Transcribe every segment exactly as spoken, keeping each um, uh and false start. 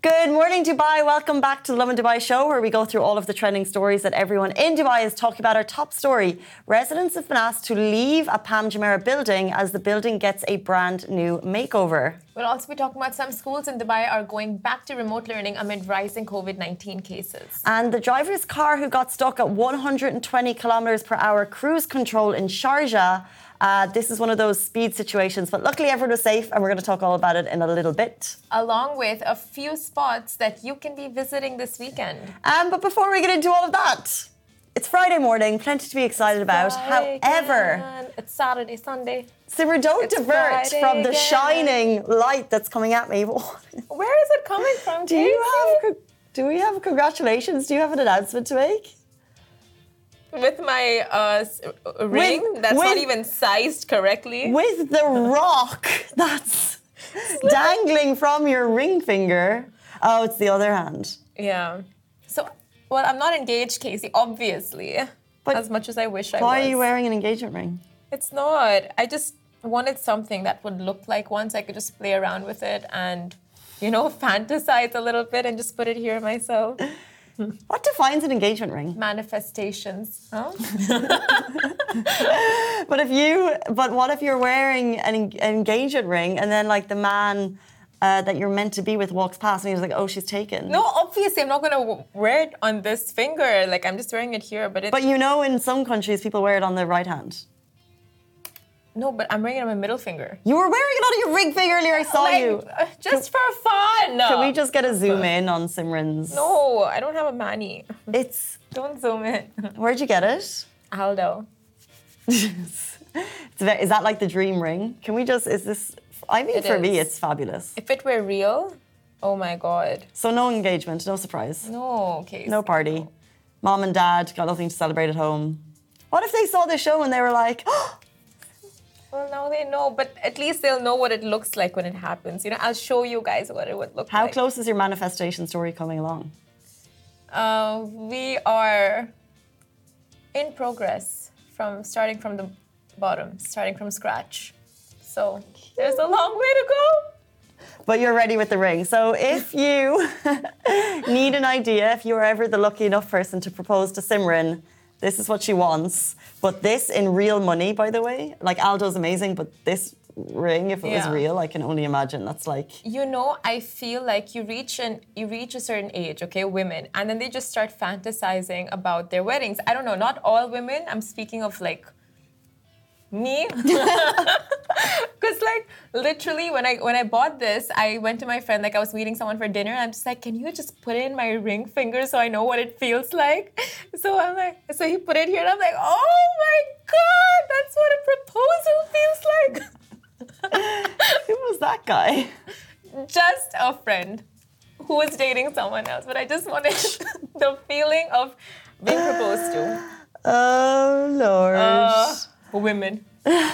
Good morning, Dubai. Welcome back to the Lovin Dubai show, where we go through all of the trending stories that everyone in Dubai is talking about. Our top story: residents have been asked to leave a Palm Jumeirah building as the building gets a brand new makeover. We'll also be talking about some schools in Dubai are going back to remote learning amid rising COVID nineteen cases. And the driver's car who got stuck at one hundred twenty kilometres per hour cruise control in Sharjah. Uh, this is one of those speed situations, but luckily everyone was safe, and we're going to talk all about it in a little bit. Along with a few spots that you can be visiting this weekend. Um, but before we get into all of that, it's Friday morning, plenty to be excited about. Friday However, again. It's Saturday, Sunday. Simmer, don't It's divert Friday from the again. shining light that's coming at me. Where is it coming from? Do you have? Do we have congratulations? Do you have an announcement to make? With my uh, ring With- that's not with- even sized correctly. With the rock that's dangling from your ring finger. Oh, it's the other hand. Yeah. So, well, I'm not engaged, Casey, obviously. But as much as I wish I was. Why are you wearing an engagement ring? It's not. I just wanted something that would look like one so I could just play around with it and, you know, fantasize a little bit and just put it here myself. What defines an engagement ring? Manifestations. Huh? But if you, but what if you're wearing an, en- an engagement ring and then like the man uh, that you're meant to be with walks past and he's like, oh, she's taken. No, obviously I'm not going to wear it on this finger. Like I'm just wearing it here, but it. But you know, in some countries, people wear it on their right hand. No, but I'm wearing it on my middle finger. You were wearing it on your ring finger earlier. I saw Like, you. uh, just for fun. Can we just get a zoom in on Simran's? No, I don't have a mani. It's. Don't zoom in. Where'd you get it? Aldo. it's very, is that like the dream ring? Can we just? Is this? I mean, It for me, is. it's fabulous. If it were real, oh my God. So no engagement, no surprise, No, okay. no party. Mom and dad got nothing to celebrate at home. What if they saw the show and they were like, oh, Well, now they know, but at least they'll know what it looks like when it happens. You know, I'll show you guys what it would look how like. close is your manifestation story coming along? Uh, we are in progress from starting from the bottom, starting from scratch. So there's a long way to go. But you're ready with the ring. So if you need an idea, if you are ever the lucky enough person to propose to Simran, this is what she wants. But this in real money, by the way. Like Aldo's amazing, but this ring, if it was Yeah. real, I can only imagine. That's like... You know, I feel like you reach an you reach a certain age, okay, women, and then they just start fantasizing about their weddings. I don't know, not all women. I'm speaking of like me. Because like literally when I when I bought this, I went to my friend, like I was meeting someone for dinner, and I'm just like, can you just put it in my ring finger so I know what it feels like? So I'm like, so he put it here and I'm like, oh my God, that's what a proposal feels like. Who was that guy? Just a friend who was dating someone else, but I just wanted the feeling of being proposed to. Oh, Lord. Uh, women.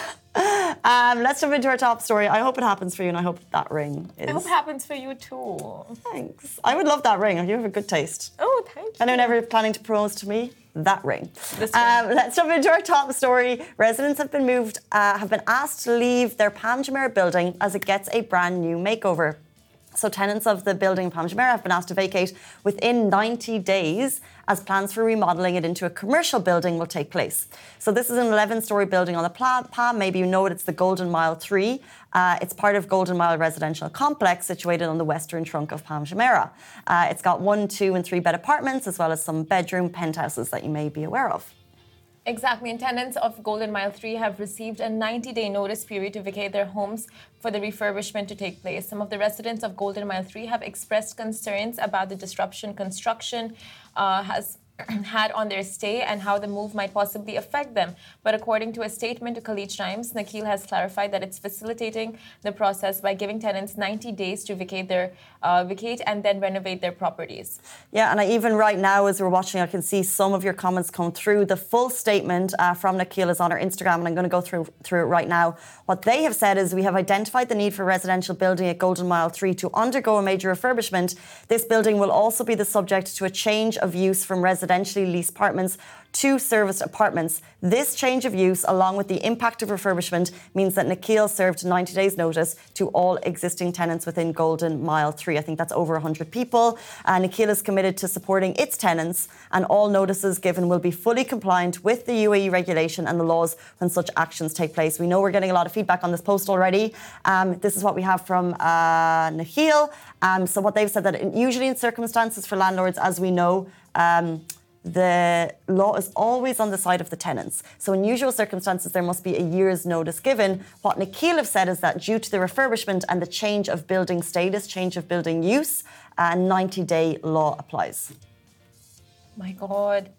Um, let's jump into our top story. I hope it happens for you, and I hope that ring is... I hope it happens for you too. Thanks. I would love that ring. You have a good taste. Oh, thank you. Anyone ever planning to propose to me? That ring. This Um, let's jump into our top story. Residents have been moved, uh, have been asked to leave their Palm Jumeirah building as it gets a brand new makeover. So tenants of the building in Palm Jumeirah have been asked to vacate within ninety days as plans for remodelling it into a commercial building will take place. So this is an eleven-storey building on the Palm. Maybe you know it, it's the Golden Mile three. Uh, it's part of Golden Mile residential complex situated on the western trunk of Palm Jumeirah. Uh, it's got one, two and three bed apartments as well as some bedroom penthouses that you may be aware of. Exactly, and tenants of Golden Mile three have received a ninety-day notice period to vacate their homes for the refurbishment to take place. Some of the residents of Golden Mile three have expressed concerns about the disruption construction uh, has had on their stay and how the move might possibly affect them. But according to a statement to Khaleej Times, Nakheel has clarified that it's facilitating the process by giving tenants ninety days to vacate their uh, vacate and then renovate their properties. Yeah, and I, even right now, as we're watching, I can see some of your comments come through. The full statement uh, from Nakheel is on our Instagram, and I'm going to go through through it right now. What they have said is, we have identified the need for residential building at Golden Mile three to undergo a major refurbishment. This building will also be the subject to a change of use from residentially leased apartments to serviced apartments. This change of use, along with the impact of refurbishment, means that Nakheel served ninety days notice to all existing tenants within Golden Mile three. I think that's over one hundred people. Uh, Nakheel is committed to supporting its tenants, and all notices given will be fully compliant with the U A E regulation and the laws when such actions take place. We know we're getting a lot of feedback on this post already. Um, this is what we have from uh, Nakheel. Um, so what they've said that in, usually in circumstances for landlords, as we know, um, the law is always on the side of the tenants. So in usual circumstances, there must be a year's notice given. What Nakheel have said is that due to the refurbishment and the change of building status, change of building use, a ninety-day law applies. My God.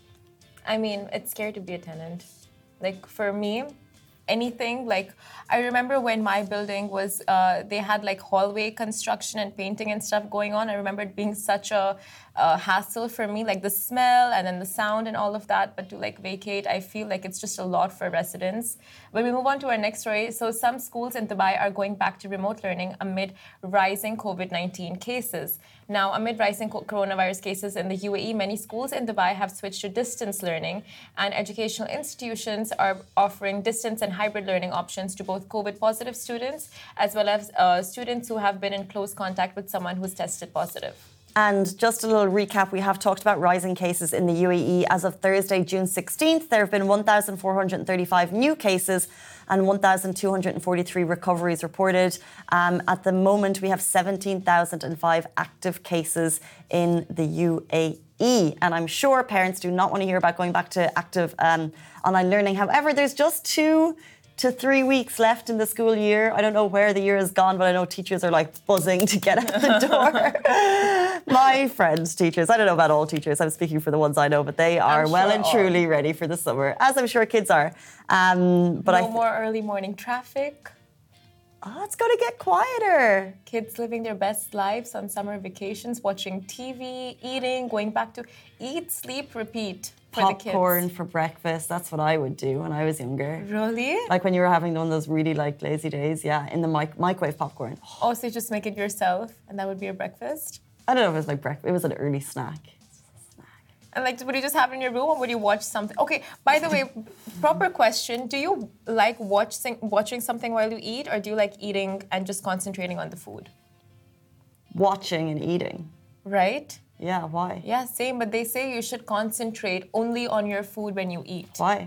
I mean, it's scary to be a tenant. Like, for me, anything, like, I remember when my building was, uh, they had like hallway construction and painting and stuff going on. I remember it being such a, a hassle for me, like the smell and then the sound and all of that. But to like vacate, I feel like it's just a lot for residents. When we move on to our next story, so some schools in Dubai are going back to remote learning amid rising COVID nineteen cases. Now, amid rising coronavirus cases in the U A E, many schools in Dubai have switched to distance learning, and educational institutions are offering distance and hybrid learning options to both COVID-positive students as well as uh, students who have been in close contact with someone who's tested positive. And just a little recap, we have talked about rising cases in the U A E. As of Thursday, June sixteenth, there have been one thousand four hundred thirty-five new cases and one thousand two hundred forty-three recoveries reported. Um, at the moment, we have seventeen thousand five active cases in the U A E. And I'm sure parents do not want to hear about going back to active um, online learning. However, there's just two to three weeks left in the school year. I don't know where the year has gone, but I know teachers are like buzzing to get out the door. My friends, teachers, I don't know about all teachers, I'm speaking for the ones I know, but they are I'm well sure and all. truly ready for the summer, as I'm sure kids are. Um, but no I th- more early morning traffic. Oh, it's going to get quieter. Kids living their best lives on summer vacations, watching T V, eating, going back to eat, sleep, repeat. For Popcorn the kids. for breakfast. That's what I would do when I was younger. Really? Like when you were having one of those really like lazy days, yeah, in the mic- microwave popcorn. Oh, so you just make it yourself and that would be your breakfast? I don't know if it was like breakfast. It was an early snack. And like, would you just have it in your room or would you watch something? Okay, by the way, proper question. Do you like watching watching something while you eat, or do you like eating and just concentrating on the food? Watching and eating. Right? Yeah, why? Yeah, same. But they say you should concentrate only on your food when you eat. Why?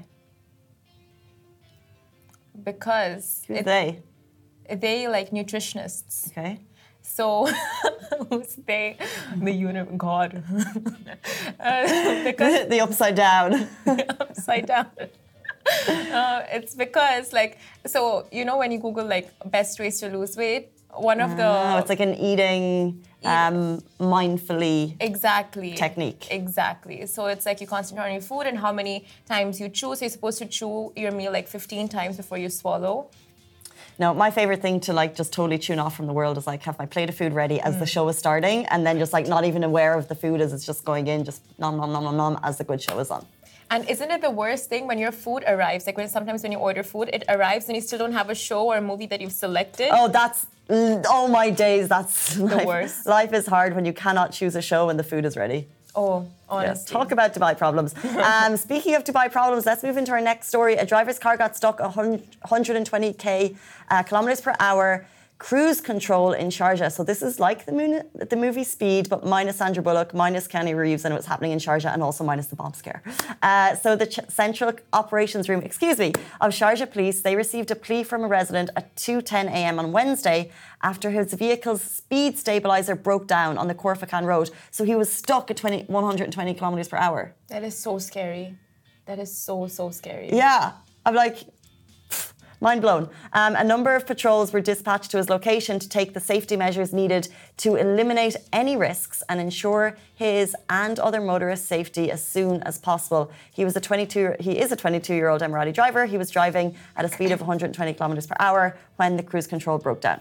Because Who's it, they? they like nutritionists. Okay. So, who's they? The universe, God. uh, because The upside down. upside down. Uh, it's because, like, so, you know, when you Google, like, best ways to lose weight, one of the... Oh, it's like an eating um, mindfully exactly technique. Exactly. So it's like you concentrate on your food and how many times you chew. So you're supposed to chew your meal like fifteen times before you swallow. No, my favorite thing to like just totally tune off from the world is like have my plate of food ready as mm. the show is starting, and then just like not even aware of the food as it's just going in, just nom nom nom nom nom as the good show is on. And isn't it the worst thing when your food arrives? Like when sometimes when you order food, it arrives and you still don't have a show or a movie that you've selected. Oh, that's oh my days. That's the life. worst. Life is hard when you cannot choose a show when the food is ready. Oh, honestly. Yes, talk about Dubai problems. um, speaking of Dubai problems, let's move into our next story. A driver's car got stuck one hundred twenty k uh, kilometers per hour. Cruise control in Sharjah. So this is like the, moon, the movie Speed, but minus Sandra Bullock, minus Kenny Reeves, and it was happening in Sharjah, and also minus the bomb scare. Uh, so the Ch- Central Operations Room, excuse me, of Sharjah Police, they received a plea from a resident at two ten a m on Wednesday after his vehicle's speed stabilizer broke down on the Khor-Fakkan road. So he was stuck at one hundred twenty kilometers per hour. That is so scary. That is so, so scary. Yeah. I'm like... Mind blown. Um, a number of patrols were dispatched to his location to take the safety measures needed to eliminate any risks and ensure his and other motorists' safety as soon as possible. He was a twenty-two. He is a twenty-two-year-old Emirati driver. He was driving at a speed of one hundred twenty kilometers per hour when the cruise control broke down.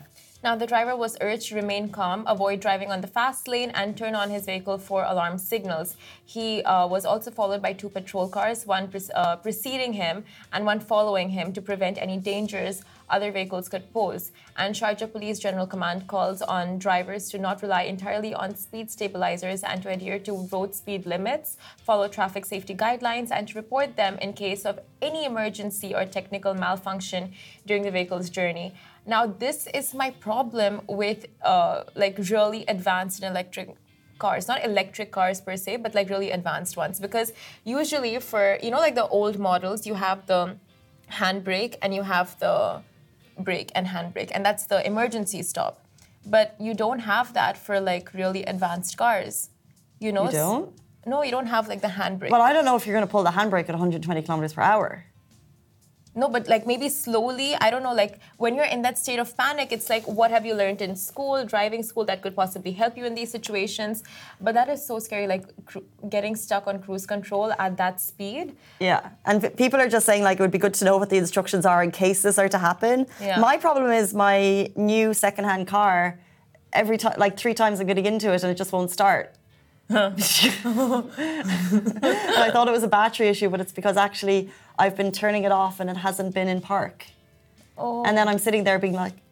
Now, the driver was urged to remain calm, avoid driving on the fast lane, and turn on his vehicle for alarm signals. He uh, was also followed by two patrol cars, one pre- uh, preceding him and one following him to prevent any dangers other vehicles could pose. And Sharjah Police General Command calls on drivers to not rely entirely on speed stabilizers and to adhere to road speed limits, follow traffic safety guidelines, and to report them in case of any emergency or technical malfunction during the vehicle's journey. Now, this is my problem with uh, like really advanced and electric cars, not electric cars per se, but like really advanced ones. Because usually for, you know, like the old models, you have the handbrake and you have the brake and handbrake, and that's the emergency stop. But you don't have that for like really advanced cars. You know? You don't? No, you don't have like the handbrake. But I don't know if you're going to pull the handbrake at one hundred twenty kilometers per hour. No, but like maybe slowly, I don't know, like when you're in that state of panic, it's like, what have you learned in school, driving school that could possibly help you in these situations? But that is so scary, like cru- getting stuck on cruise control at that speed. Yeah, and p- people are just saying like it would be good to know what the instructions are in case this are to happen. Yeah. My problem is my new secondhand car, every time, like three times I'm getting into it and it just won't start. I thought it was a battery issue, but it's because actually I've been turning it off and it hasn't been in park. Oh. And then I'm sitting there being like,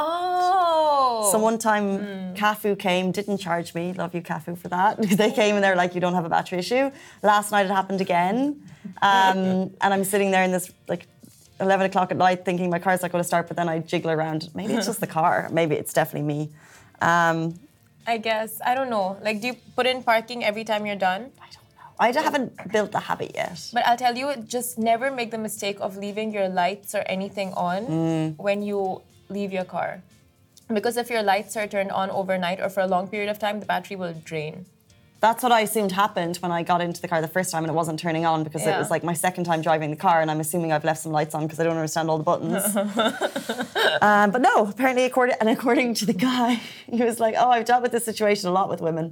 oh. So one time mm. Cafu came, didn't charge me. Love you, Cafu, for that. They came and they're like, you don't have a battery issue. Last night it happened again. Um, and I'm sitting there in this like eleven o'clock at night thinking my car's not going to start, but then I jiggle around. Maybe it's just the car. Maybe it's definitely me. Um, I guess. I don't know. Like, do you put in parking every time you're done? I don't know. I haven't built the habit yet. But I'll tell you, just never make the mistake of leaving your lights or anything on mm. when you leave your car. Because if your lights are turned on overnight or for a long period of time, the battery will drain. That's what I assumed happened when I got into the car the first time and it wasn't turning on because yeah. it was like my second time driving the car and I'm assuming I've left some lights on because I don't understand all the buttons. um, but no, apparently according and according to the guy, he was like, oh, I've dealt with this situation a lot with women.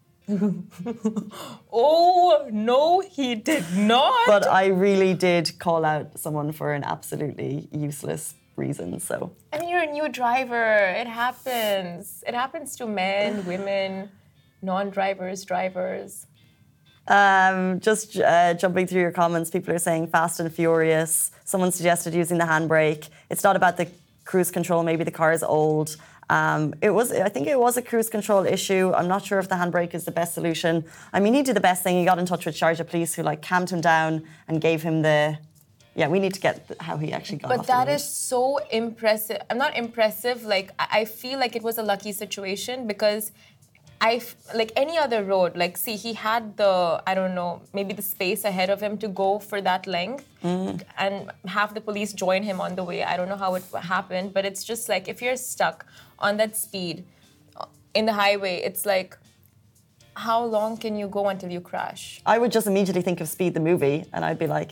Oh, no, he did not. But I really did call out someone for an absolutely useless reason, so. I mean, you're a new driver. It happens. It happens to men, women, non-drivers, drivers. Um, just uh, jumping through your comments, people are saying Fast and Furious. Someone suggested using the handbrake. It's not about the cruise control. Maybe the car is old. Um, it was. I think it was a cruise control issue. I'm not sure if the handbrake is the best solution. I mean, he did the best thing. He got in touch with Sharjah Police, who like calmed him down and gave him the. Yeah, we need to get how he actually got. But off that the road. is so impressive. I'm not impressive. Like I feel like it was a lucky situation because. I like any other road, like see, he had the, I don't know, maybe the space ahead of him to go for that length mm. and have the police join him on the way. I don't know how it happened, but it's just like if you're stuck on that speed in the highway, it's like, how long can you go until you crash? I would just immediately think of Speed the movie and I'd be like,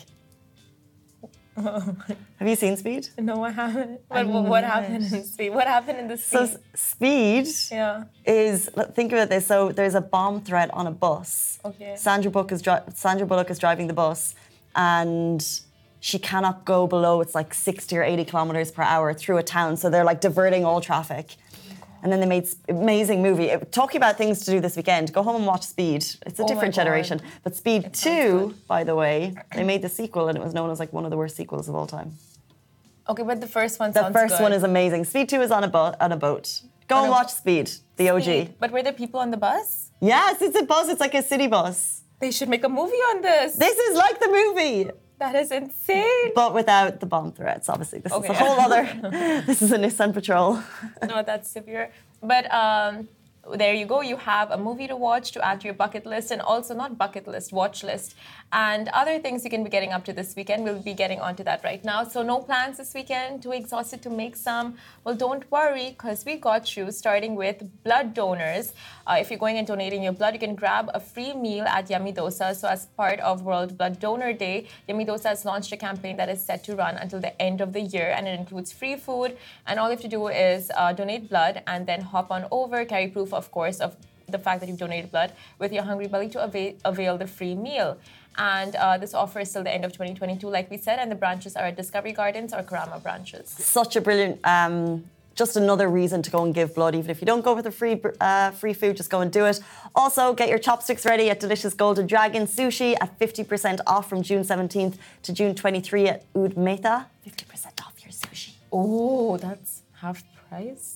have you seen Speed? No, I haven't. But what, what happened in Speed? What happened in the Speed? So Speed yeah. is, think about this, so there's a bomb threat on a bus. Okay. Sandra Bullock is, dri- Sandra Bullock is driving the bus and she cannot go below, it's like sixty or eighty kilometers per hour through a town. So they're like diverting all traffic. And then they made amazing movie. Talking about things to do this weekend, go home and watch Speed. It's a oh different generation. But Speed it two, by the way, they made the sequel and it was known as like one of the worst sequels of all time. Okay, but the first one the sounds first good. one is amazing. Speed two is on a, bo- on a boat. Go on and watch Speed, the O G. Speed. But were there people on the bus? Yes, it's a bus. It's like a city bus. They should make a movie on this. This is like the movie. That is insane. But without the bomb threats, obviously. This okay. is a whole other... This is a Nissan Patrol. No, that's severe. But um, there you go. You have a movie to watch to add to your bucket list, and also not bucket list, watch list. And other things you can be getting up to this weekend. We'll be getting onto that right now. So no plans this weekend? Too exhausted to make some? Well, don't worry, because we got you, starting with blood donors. Uh, if you're going and donating your blood, you can grab a free meal at Yummy Dosa. So as part of World Blood Donor Day, Yummy Dosa has launched a campaign that is set to run until the end of the year, and it includes free food. And all you have to do is uh, donate blood and then hop on over, carry proof, of course, of the fact that you've donated blood with your hungry belly to avail, avail the free meal. And uh, this offer is till the end of twenty twenty-two, like we said, and the branches are at Discovery Gardens or Karama branches. Such a brilliant um, just another reason to go and give blood. Even if you don't go for the free uh, free food, just go and do it. Also, get your chopsticks ready at Delicious Golden Dragon Sushi at fifty percent off from June seventeenth to June twenty-third at Oud Mehta. fifty percent off your sushi. Oh, that's half price?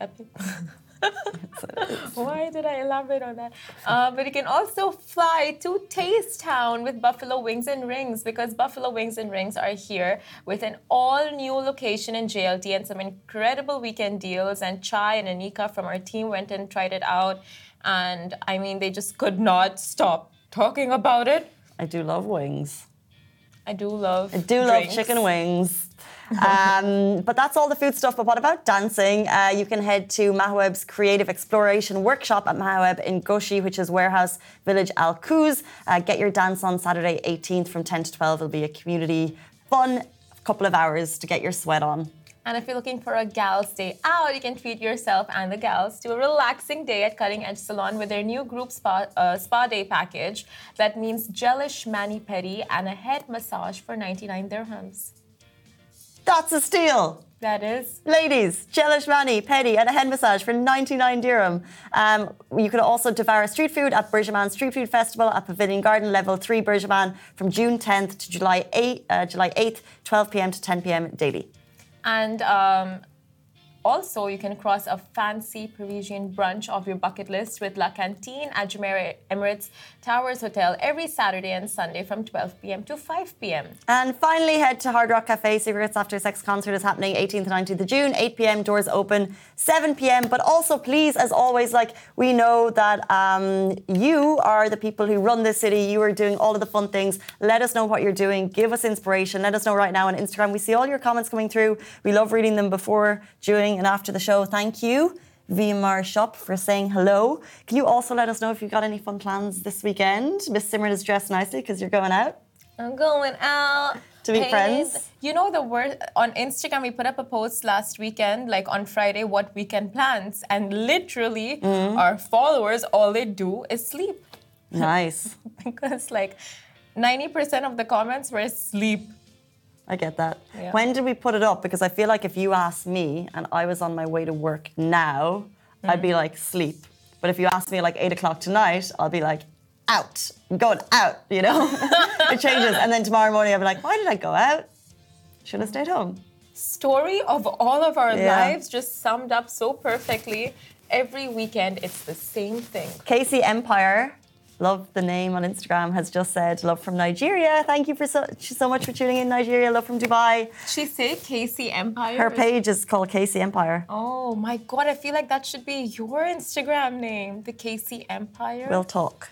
Why did I elaborate on that? Uh, but you can also fly to Taste Town with Buffalo Wings and Rings, because Buffalo Wings and Rings are here with an all-new location in J L T and some incredible weekend deals. And Chai and Anika from our team went and tried it out. And I mean, they just could not stop talking about it. I do love wings. I do love I do drinks. love chicken wings. um, but that's all the food stuff. But what about dancing? Uh, you can head to Mahaweb's Creative Exploration Workshop at Mahaweb in Goshi, which is Warehouse Village Al Quoz. Uh, get your dance on Saturday eighteenth from ten to twelve. It'll be a community fun couple of hours to get your sweat on. And if you're looking for a gals day out, you can treat yourself and the gals to a relaxing day at Cutting Edge Salon with their new group spa, uh, spa day package. That means gelish mani-pedi and a head massage for ninety-nine dirhams. That's a steal. That is. Ladies, gelish mani, pedi and a head massage for ninety-nine dirham. Um, you can also devour street food at Bergman Street Food Festival at Pavilion Garden, Level three Bergman from June tenth to July eighth, uh, July eighth, twelve p.m. to ten p.m. daily. And um, also, you can cross a fancy Parisian brunch off your bucket list with La Cantine at Jumeirah Emirates Towers Hotel every Saturday and Sunday from twelve p.m. to five p.m. And finally, head to Hard Rock Cafe. Cigarettes After Sex concert is happening eighteenth and nineteenth of June, eight p.m. Doors open, seven p.m. But also, please, as always, like we know that um, you are the people who run this city. You are doing all of the fun things. Let us know what you're doing. Give us inspiration. Let us know right now on Instagram. We see all your comments coming through. We love reading them before, during, and after the show. Thank you, Vimar Shop, for saying hello. Can you also let us know if you've got any fun plans this weekend? Miss Simran is dressed nicely because you're going out. I'm going out. To meet Hey, friends? You know the word on Instagram, we put up a post last weekend, like on Friday, what weekend plans. And literally, Mm. our followers, all they do is sleep. Nice. Because like ninety percent of the comments were sleep. I get that. Yeah. When did we put it up? Because I feel like if you asked me and I was on my way to work now, Mm. I'd be like, sleep. But if you asked me like eight o'clock tonight, I'll be like, out. I'm going out, you know? It changes. And then tomorrow morning, I'll be like, why did I go out? Should have stayed home. Story of all of our Yeah. lives just summed up so perfectly. Every weekend, it's the same thing. Casey Empire, love the name on Instagram, has just said, love from Nigeria. Thank you for so, so much for tuning in, Nigeria. Love from Dubai. She say Casey Empire? Her page is called Casey Empire. Oh my God, I feel like that should be your Instagram name, the Casey Empire. We'll talk.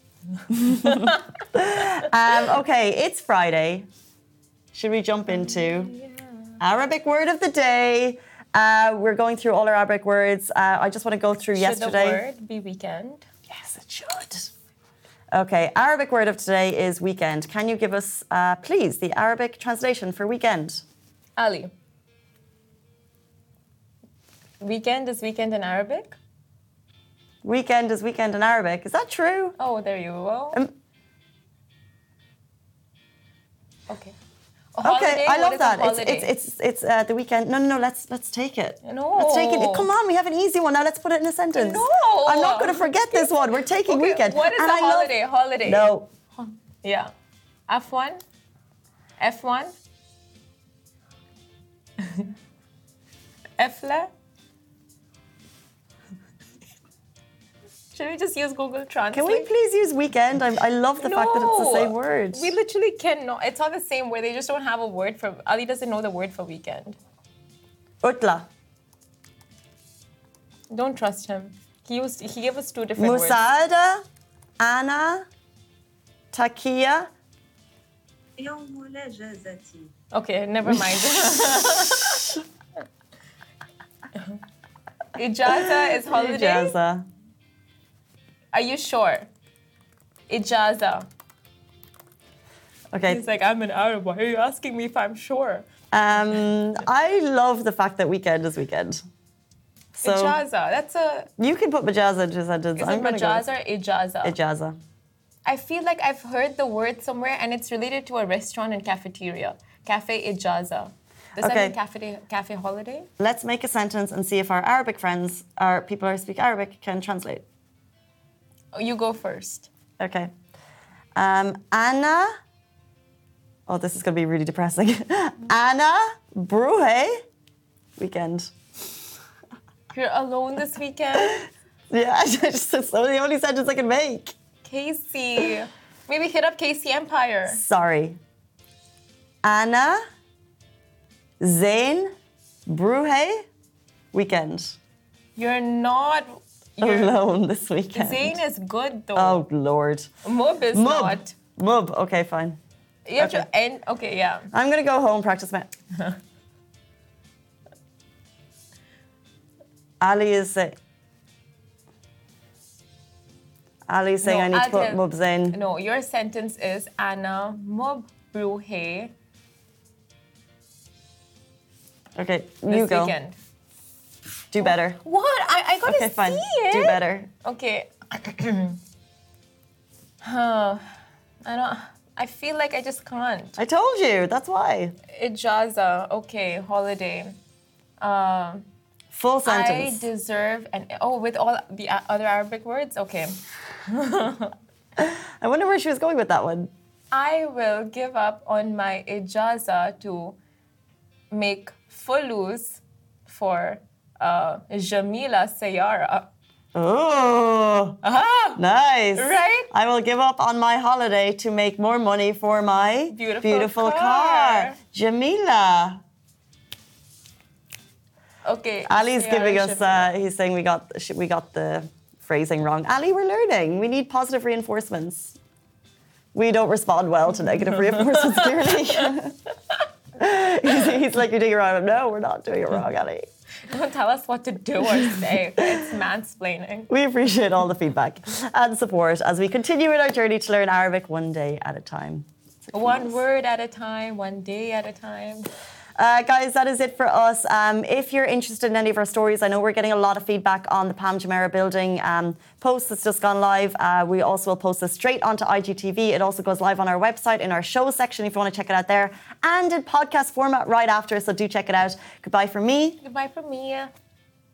um, okay, it's Friday. Should we jump into yeah. Arabic word of the day? Uh, we're going through all our Arabic words. Uh, I just want to go through Should yesterday. the word be weekend? Yes, it should. Okay, Arabic word of today is weekend. Can you give us, uh, please, the Arabic translation for weekend? Ali. Weekend is weekend in Arabic? Weekend is weekend in Arabic. Is that true? Oh, there you go. Um, okay. A holiday? Okay, I What love is a that. It's holiday? it's it's it's uh, the weekend. No, no, no. Let's let's take it. No. Let's take it. Come on, we have an easy one now. Let's put it in a sentence. No. I'm not going to forget this one. We're taking Okay, weekend. what is And a I love- holiday? Holiday. No. Yeah. F one? F one? Efle? Should we just use Google Translate? Can we please use weekend? I'm, I love the fact that it's the same No. word. We literally cannot. It's not the same word. They just don't have a word for. Ali doesn't know the word for weekend. Utla. Don't trust him. He used. He gave us two different words. Musada. Ana. Takia. يوم الأجازة. Okay, never mind. Ijaza is holiday. Ijaza. Are you sure? Ijaza. Okay. He's like, I'm an Arab. Why are you asking me if I'm sure? Um, I love the fact that weekend is weekend. So Ijaza. That's a. you can put majaza into a sentence. Is I'm it gonna go with majaza or ijaza? Ijaza. I feel like I've heard the word somewhere and it's related to a restaurant and cafeteria. Cafe Ijaza. Does Okay. that mean cafe, cafe holiday? Let's make a sentence and see if our Arabic friends, our people who speak Arabic, can translate. Oh, you go first. Okay. Um, Anna. Oh, this is going to be really depressing. Anna Bruhe weekend. You're alone this weekend? Yeah, I just, it's the only sentence I can make. Casey. Maybe hit up Casey Empire. Sorry. Anna Zain Bruhe weekend. You're not. You're, Alone this weekend. Zayn is good though. Oh, Lord. Mub is Mub. not. Mub. Okay, fine. You have Okay. to end. Okay, yeah. I'm going to go home, practice my... Ali is saying... Ali is saying No, I need to I'll put tell- Mub Zain. No, your sentence is Anna Mub Bruhe Okay, this you go. weekend. Do better. What? I, I gotta Okay, fine. see it. Do better. Okay. Huh. I don't. I feel like I just can't. I told you. That's why. Ijaza. Okay. Holiday. Um. Full I sentence. deserve an. Oh, with all the a- other Arabic words. Okay. I wonder where she was going with that one. I will give up on my ijaza to make fulus for uh, Jamila Sayara. Oh, Ah, nice. Right? I will give up on my holiday to make more money for my Beautiful car. car. Jamila. okay. Ali's Sayara giving us, Jamila. uh, he's saying we got, we got the phrasing wrong. Ali, we're learning. We need positive reinforcements. We don't respond well to negative reinforcements, clearly. he's, he's like, you're doing it wrong. No, we're not doing it wrong, Ali. Don't tell us what to do or say. It's mansplaining. We appreciate all the feedback and support as we continue in our journey to learn Arabic one day at a time. One word at a time, one day at a time. Uh, guys, that is it for us. Um, if you're interested in any of our stories, I know we're getting a lot of feedback on the Pam Jumeirah building um, post that's just gone live. Uh, we also will post this straight onto I G T V. It also goes live on our website in our show section if you want to check it out there, and in podcast format right after, so do check it out. Goodbye from me. Goodbye from me.